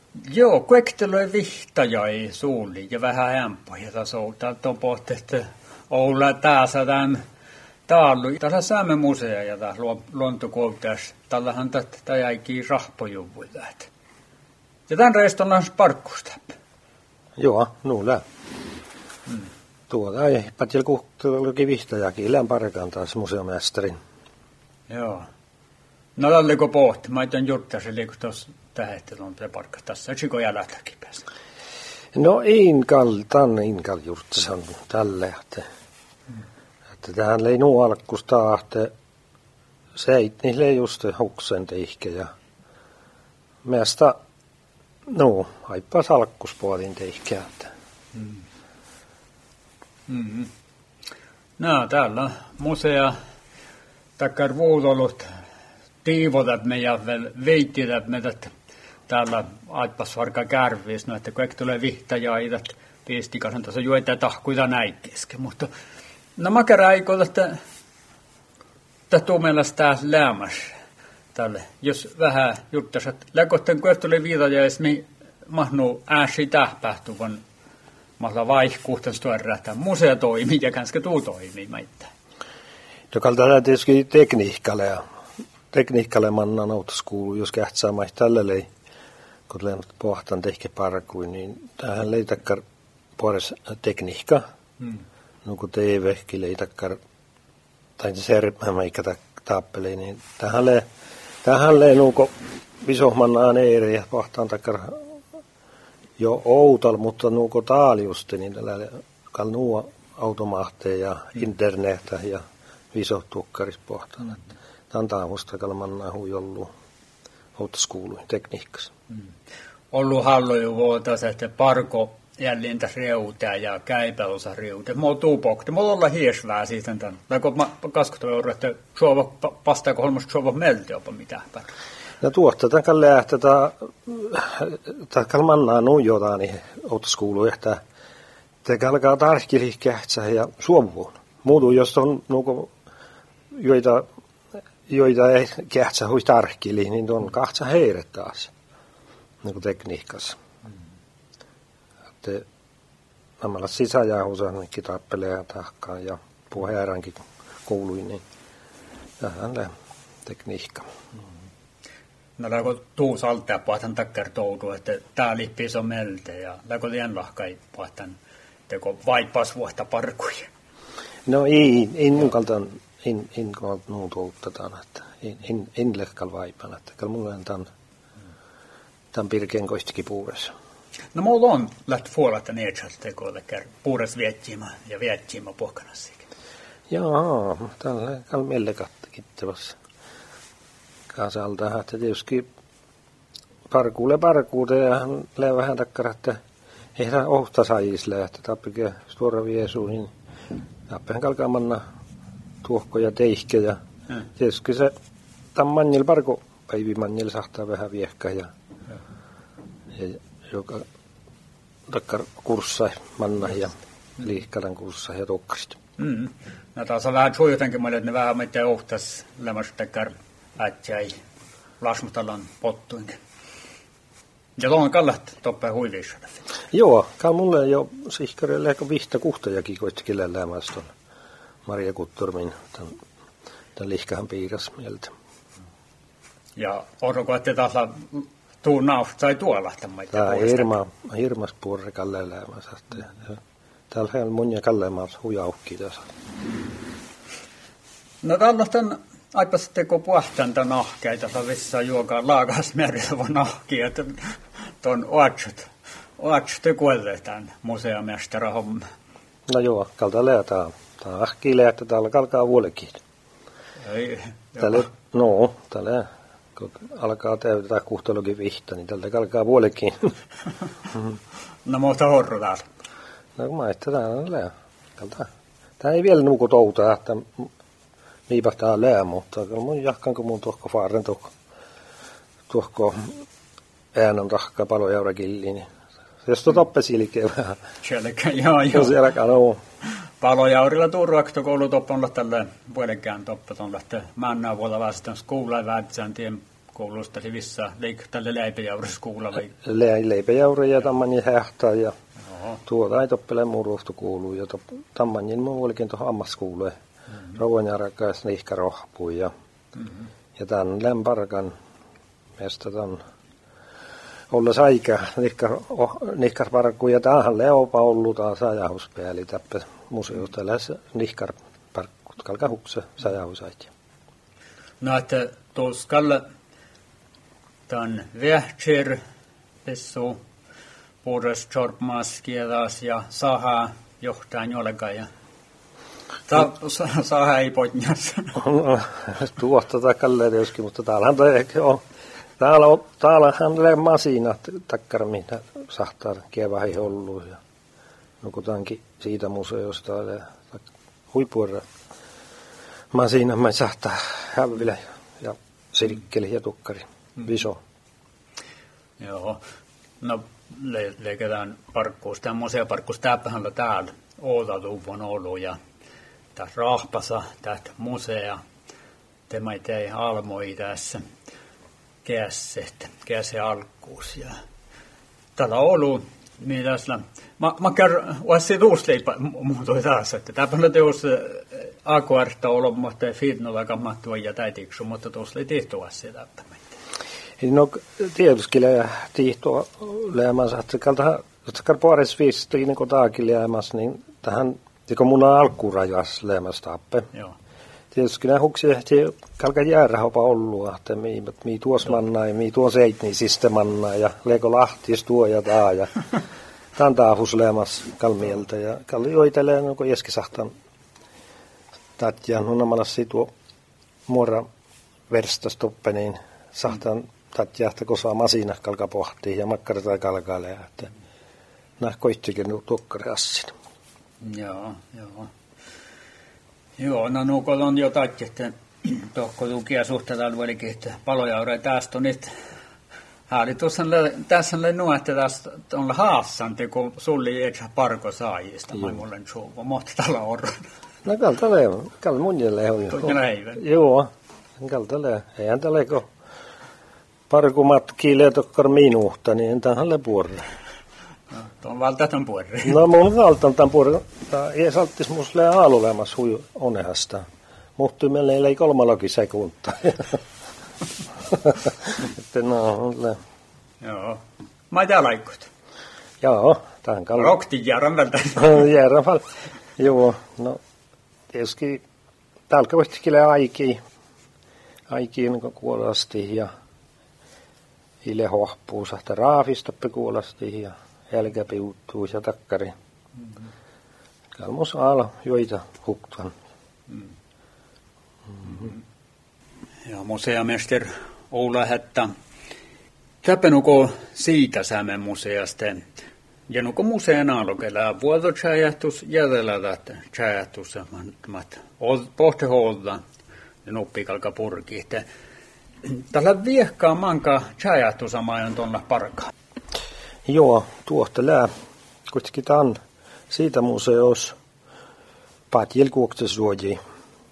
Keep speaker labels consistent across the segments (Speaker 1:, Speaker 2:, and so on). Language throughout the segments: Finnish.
Speaker 1: Joo, kuekteloi vihtajai suuli ja vähän ämpoja taso. Täältä on pohti, että Oula taasa tämän taalu. Tässä saamme musea ja taas luontokoulutus. Tällähän tätä jäikin rahpojuvuilla. Ja tämän reistä on parkkusta.
Speaker 2: Joo, nuulla. Tuolla ei patjel kuhtuukin vihtajakin. Ilän parkan taas museomestarin.
Speaker 1: Joo. No tälläkö pohti? Mä etän juttaisi liikus tuossa tähettä on parkka tässä. Eikö jälätäkin päästä?
Speaker 2: No inkal jurtsan tälle. Että tähän lei nuu alkusta, että seit niille just huksen teihke ja meistä haippas alkuspuolin teihke.
Speaker 1: No täällä on musea takkar vuudolut tiivotat me ja veittiät me, että täällä aippas varka kärviis, no että kun eikö tulee vihtajaidat piistikasen tuossa juoita tahkuita näin kesken, mutta no mä kerään aikoilla, että tuu meillä sitä lämmäs tälle, jos vähän juttas, että läkotten kun tulee vihtajais, niin mahnu ääsi tähpähtu, kun mahla vaihkuuhtan stuerra, että musea toimii ja kanske tuu toimii meitä.
Speaker 2: Joka tätä tietysti tekniikkalle mannan autoskoulu, jos kähtsää maih tälle lei, kun lennot pohtan tehke parkuin, niin tähän leitakkar puolessa tekniikka. No kun TV-kin leitakkar, tai se sermämäikä taappeli, niin tähän lei nuuko visohmannaan eiri ja pohtaan takkar jo outal, mutta nuuko taaliusti, niin tällä nuo automaatteja ja internettä ja visotukkaris pohtaan. Tämä on taavusta kalmannaa huijollu autoskouluin tekniikassa.
Speaker 1: Ollut halloju vuotas, että parko jälleen tässä reutaa ja käypäosa reutaa. Mä oon tuupokti. Mä oon olla hiesvää siitä tämän. Läkö kaskotavaa, että suova vastaako holmasta suova melti jopa mitään.
Speaker 2: No tuosta tämän lähtee, kalmannaa nuijotaan niin autoskouluun, että te alkaa tarkkili kähtsää ja suomuun. Muutu, jos on nuuko joita ei kähtsä hui tarkkili, niin on kahtsa heiret taas, niin kuin tekniikassa. Että nämä sisäjäähuusa ainakin tappelee ja tahkaan ja puheerankin kouluin, niin tähän tekniikka.
Speaker 1: No läkö tuu saltaa pohtan takkar toudu, että tää lippis on melte ja läkö lien lahkai pohtan teko vaippas vuotta parkuja.
Speaker 2: No ei nukaltaan. En nuun tuotetaan, että en lehkal vaipana, että kyllä mulla on tämän pirkeen koistikin puuressa.
Speaker 1: No mulla on läht fuolata neetsalt tekoille puures viettiima pohkanassikin.
Speaker 2: Joo, tällä on meille kittavassa kasalta, että tietysti parkuude ja lää vähän takkara, että ei saa ohta saajisle, että tappike suora viesuihin, tappehan kalkaa manna tuohkoja teihke ja tietysti se tämän mannil parko päivimannil sahtaa vähän viehkä ja joka takkar kurssai manna ja liikkalan kurssai ja tokkasit.
Speaker 1: No taas on vähän suojotenkin että ne vähän meitä ohtas lämmästä takkar ätjäi lasmutalan pottuinkin. Ja tuon kallat toppaa huiliissa.
Speaker 2: Joo, kai mulle jo sihkarille ehkä vihta kuhtajakin koistikin lämmästä tuolla. Maria Kutturmin, tämän lihkähän piiras mieltä.
Speaker 1: Ja orko, että taas tuu naust sai tuolla tämän.
Speaker 2: Tämä hirmas puolella kalleen lämmässä. Täällä on mun ja kalleen hujaukki tässä.
Speaker 1: No tällaisten aipas teko puhtaan tämän nahkeita, vissa juokaa laagas merkitsevä nahki, että tuon oatsut kuolee tämän museomestarahomma.
Speaker 2: No joo, kalta läätään. Tämä on ahkiile, että täällä alkaa vuolekin. Täällä kun alkaa täytetään kuhtalokin vihta, niin tältä alkaa vuolekin.
Speaker 1: No mutta horro taas.
Speaker 2: No kun mä täällä on lää. Tämä ei vielä nuku toutaa, että niipahtaa lää, mutta mun jahkanko mun tuohko faaren tuohko äänen tahkaa palojaurakin, niin jos toppesilikeen vähän.
Speaker 1: Sielläkään, joo.
Speaker 2: Sielläkään on.
Speaker 1: Palojaurilla tuuruaktokoulu on tällä vuodenkään toppa on lähtee mannaa vuolla vastaan skuulla väitsään tien koulusta vissa tälle leipäjauriskuulla vai?
Speaker 2: Leipäjauri ja tammanin hähtää ja tuota ei toppele muruhtu kuuluu ja tammanin mun olikin tuohon ammaskuuleen. Rouvanjärkäs nihkä rohpuu ja tämän lämparkan meistä tämän olles aika nihkar parkku ja tähän leopa ollut taas sajahuspäälli täppä museosta lähes nihkar parkkut kalkahukse sajahusait.
Speaker 1: No että tuoskalle tämän vähtser pessu puures chorpmaskiedas ja saha johtaa jollekaan ja saha ei potjas.
Speaker 2: Tuosta takalle tietysti, mutta täällähän on. Täällähän on masinat takkara, mitä sahtaa kevähin ollut. Ja nukutaankin siitä museosta huippuerä masina, mä sahtaa hävillä ja sirkkeli ja tukkari. Viso.
Speaker 1: Joo. No leiketään parkkuus. Tämä museoparkkuus täppähän täällä Outatuvon ollut ja tässä rahpasa tästä musea. Tämä ei almoi tässä käse alkuus. Ja täällä on ollut mitäsla. Mä kerron, olisi tuusleipä muutoi taas, että täppähän teos akuarta ollut, mutta fiitnolla kammattua ja täitiksu, mutta tuossa ei tehtyä sitä täppämättä.
Speaker 2: No tietysti tiihtoa läämänsä, että kalta puoles viisi niin kuin taakin läämässä, niin tähän kun mun on alkurajas läämässä tappe.
Speaker 1: Joo.
Speaker 2: Tietysti nämä huksia ehti kalka jäärähopa ollut, että mii tuos mannaa ja mii tuos eitni sistemannaa ja leiko lahtis tuo ja taa ja tämän taahus läämässä kalmieltä ja kalli joitelee no kun jeskisahtan tatjaan hunnamalassi tuo muora verstastoppe niin sahtan tatjahta kun saa masina kalka pohtii ja makkara tai kalkailee, että nämä koittikin tuokkari assin.
Speaker 1: Joo. Joo, no nuukot on jo tatki, että tohko tukia suhteella olikin, että palojaure tästä on nyt. Hääli tässä on nuo, että tästä on haassanti, kun sulli ei parko saajista, mä mulle suuva, mutta tällä on.
Speaker 2: No kalta munjelle on jo. Joo, kalta lee. Eihän tällä kun parku matkii leetokkar minuuta, niin en tähän le puorre.
Speaker 1: No, tuon valtaan puorre.
Speaker 2: No mun valtaan tämän puorre. Ei salttis musta lee aalulemas hui onehasta. Muhtui meille ei 3 sekuntia. Että no,
Speaker 1: joo. Mä tää laikkut.
Speaker 2: Joo, tähän kalli.
Speaker 1: Rokti järän vältä.
Speaker 2: Järän vältä. Joo, no tietysti täällä voisikin aikii niin kuolasti ja ile hohpuu sahta raafistoppe kuolasti ja helkä piuttuu ja takkari. Kalmus aala joita huktan.
Speaker 1: Ja museamester Oula Hättä. Täpänuko siitä Sämen museasta. Ja nuko musean alokella vuototsäjähtus jätellä että tsäjähtus pohtiholta ja nuppikalka purki. Tällä viehkaa manka tsäjähtus amajan tuolla parkaa.
Speaker 2: Joo, tuohta lää. Kuitenkin tämän siitä museos patjel kuoktasuoji.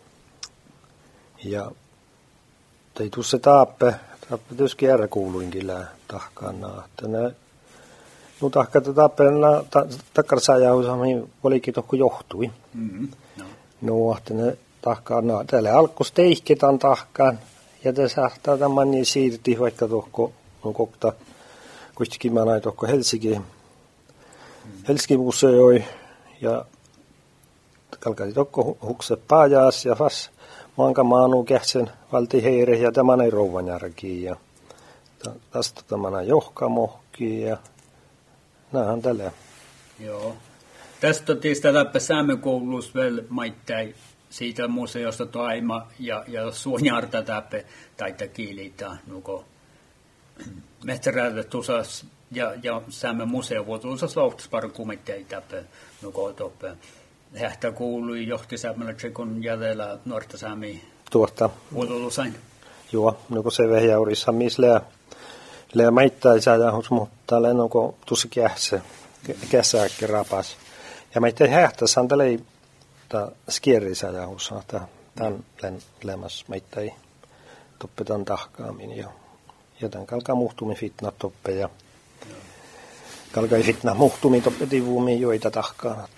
Speaker 2: Ja ei tuu se taappe tietysti järä kuuluinkin lää tahkaan naahta. No tahkaa taappe takkarsajausaamiin olikin tohko johtui. No, että ne tahkaan naahta. Täällä alkos teihketan tahkaan ja te sahtaa tämän niin siirti vaikka tohko no kokta kuitenkin mä näin tohko Helsinki museoi ja kalkati tohko hukse pajas ja fas manka maanu kähtsen valti heire ja tämän ei rouvanjärkiin ja tästä tämän johkamohkiin ja näähän tällä.
Speaker 1: Joo. Tästä tietysti läppä Säämenkoulussa vielä maittain siitä museosta toima ja suonjarta täppä taita kiilitä nuko mehtäräältä tusas ja Säämen museo vuotuusas lauhtusparin kumitteja täppä nuko toppä. Hähtä kuului johti Säämellä tsekon jäljellä nuorta Säämiä.
Speaker 2: Tuosta.
Speaker 1: Vuotuusain.
Speaker 2: Joo, nuko se vehjaurissa missä lää maittaisa ja mutta lää nuko tuossa käsääkki rapas. Ja maittai hähtäsään tällä ei skierrisä ja tämän lämmäs maittai toppetan tahkaamin jo Joten kalkaa muhtumi fitna toppe ja kalkai fitna muhtumi toppe tivuumi joita tahkaan.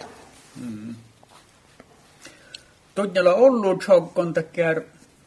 Speaker 1: Todella ollut joukon tekär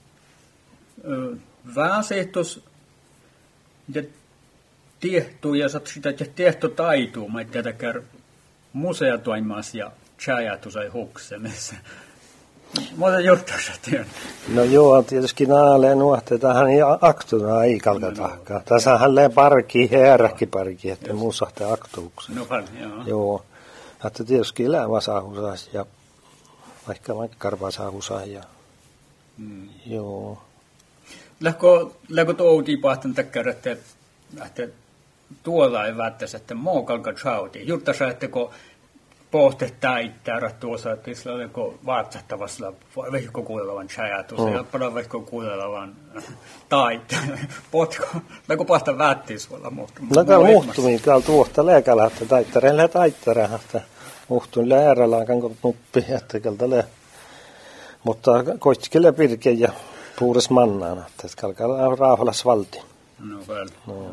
Speaker 1: väsehtus ja tehtu ja sitä tehty taituu, mä tekär museatoimas ja chajatus ei huksemissa. Mutta juttuisa työn.
Speaker 2: No joo, tietysti naaleen nuotte tähän aktuna ei kalka tahkaa. Tässä hänleen parki, heräkki parki, että muusahte aktuuksen.
Speaker 1: No paljon,
Speaker 2: Joo. Että tietysti elämä saahusas ja vaikka karvaa saahusas ja joo.
Speaker 1: Läkö toutii pahtan takia, että tuolla ei välttäisi, että muu kalka chauti. Juttasa, että kun pohtettaa itseään tuossa, että sillä oliko vaatsattavassa vehko kuulevan chajatus ja paljon vehko kuulevan taita. Potko, läkö pahtan välttiis olla muhtumaan.
Speaker 2: No täällä muhtumiin, täällä tuosta lääkällä, että taittareen, että muhtuin läärälään kanko nuppi, että keltä mutta koitkele pirke ja puures mannaan, että kalkaa raaholas valti.
Speaker 1: No väl,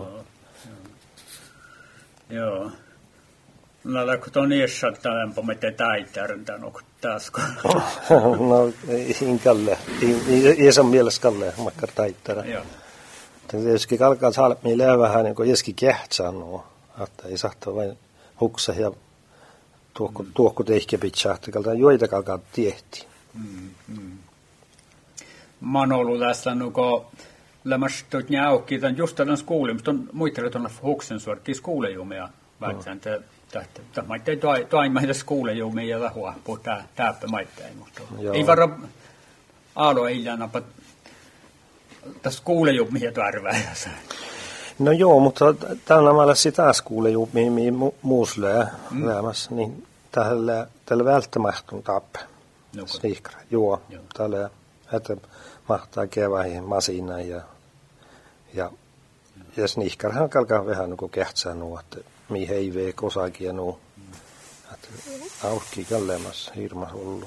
Speaker 1: joo. No läkö tuon iässä lämpö, mitä taittareen tämän onko taas?
Speaker 2: No ei kalle, ei saa mielessä kalle, vaikka taittara.
Speaker 1: Joo.
Speaker 2: Tietysti kalkaa salmiin vähän niin kuin jeski kehtsää nuo, että ei saattaa vain huksa ja tuokku teihke pitää, että kalkaa joita kalkaa tiehti.
Speaker 1: Mä oon ollut tässä nuko lämmäs tuot njaukkii, tämän just tämän skuulin, mutta on muittelu tuolla huksen suorkkiin skuulejumia välttämään, että mä ei toimaita skuulejumia ja lähua puhutaan täppä maittain, mutta ei varo aalo ei jäänäpä tässä skuulejumia tarvääjässä.
Speaker 2: No joo, mutta tällä mä sitä skuulejumia, mihin muuslee lämmäs, niin tällä välttämättä tappe. Sniikra, joo. Tällä että mahtaa keväihin masina ja sniikkarahan kalkaa vähän niin kehtsää nuo, että mihin ei vee kosakin ja nuo. Että auhkii kalleemassa hirmas ollut.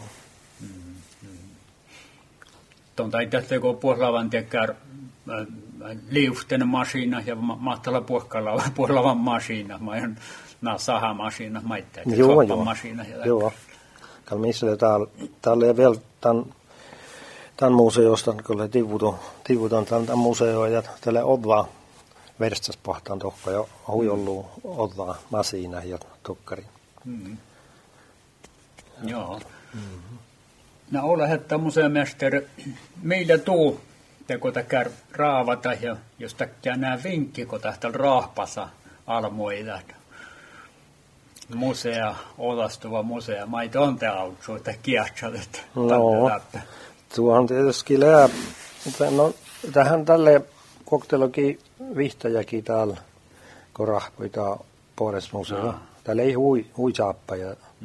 Speaker 1: Tuon taitteessa kun puhlavan tekär liusten masina ja mahtalla puhlavan masina. Mä oon nää sahamasina, mä itse masina.
Speaker 2: Joo. Missä täällä ei vielä tämän museosta, kun tivuton tämän museoon ja tällä odvaa verstas pahtaan tohka ja hui ollut odvaa masina ja tokkari.
Speaker 1: Joo. No ole hetta museomesteri, meillä tuu teko takär raavata ja jos takia nää vinkki, kun tähtäällä raahpasa almoida. Musea, olastuva musea, mä ei tonte autsu, että kiahtsat, että
Speaker 2: tuohon tietysti no tähän tälle koktelokin vihtäjäkin täällä, kun rahpoita Poresmuseo. Täällä ei hui saappa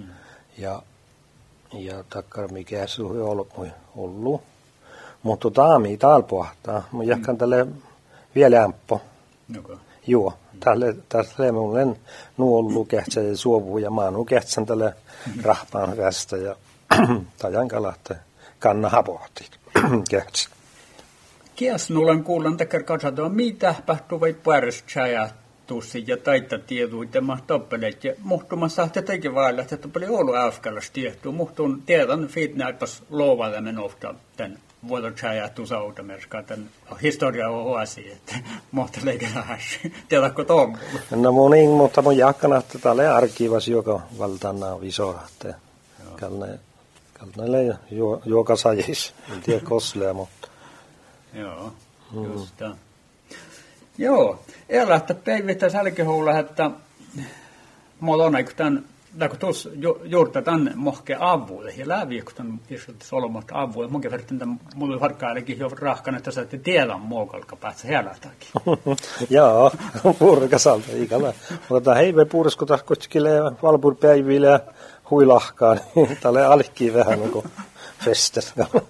Speaker 2: ja takkar mikä se on ollut. Mutta taami täällä pohtaa, mun jahkan tälle vielä ämppo. Joo, tälle mun en nuollu kehtsä ja suovu ja mä kehtsän tälle rahpaan kästä ja tajan kalahte kannaha pohti kehtsä.
Speaker 1: Kies nuolen kuulen teker katsotaan, mitä tapahtuu vai pärstsäjä tussi ja taita tieduita mä toppeleet ja muhtumassa että teki vailla, että toppeli ollut äyskäläs tiehtuu. Muhtun tiedän fiitnäipäs loovalle menofta tämän vuodotsäjä tusautameskaan tämän historia on huosi, että muhteleikä lähes. Tiedätkö tuon?
Speaker 2: No mutta mun jakkana, että täällä arkivas joka valtana visoa, että kalneille joka sajis, en tiedä koslee, mutta.
Speaker 1: Joo, just tämä. Joo, elättä päivittä sälkihuulla, että mulla on aika tämän, kun tuossa juurta tämän mohke avuille, ja läpi, kun tämän solmoista avuille, munkin verran mulla oli harkkaillekin jo rahkana, että saatte tiedän muokalka päästä helätäkin.
Speaker 2: Joo, purkasalta ikävä. Mutta heive puuresko taas kutskilee valpurpäiville ja huilahkaan, niin tälle alkkiin vähän niin kuin fester.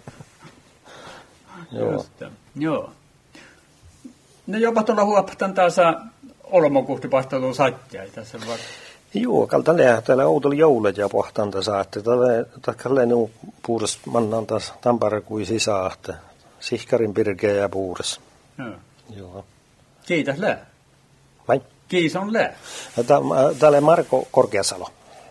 Speaker 1: Joo. No jopa tuolla huopatan taas olmokuhti pahtelua satjai tässä var.
Speaker 2: Joo, täällä outolla joulet ja pohtan tässä, että tällä nu puures mannan taas tampara kuin sisään, että sihkarin pirkeä ja puures. Joo.
Speaker 1: Kiitos lää.
Speaker 2: Vai?
Speaker 1: Kiison lää.
Speaker 2: Täällä Marko Korkeasalo.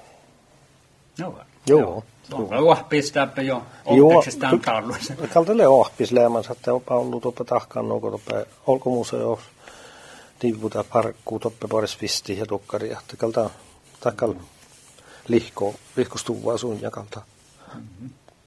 Speaker 2: Joo.
Speaker 1: Onko luohpistääpä jo oppeksestään talluissa?
Speaker 2: Kaltele ohpis läämänsä, että on ollut tuoppe tahkaan nuuko tuoppe olkomuseo tiivuta parkkuu tuoppe paris visti ja tukkaria. Kalta takal lihkostuvaa sun ja kalta.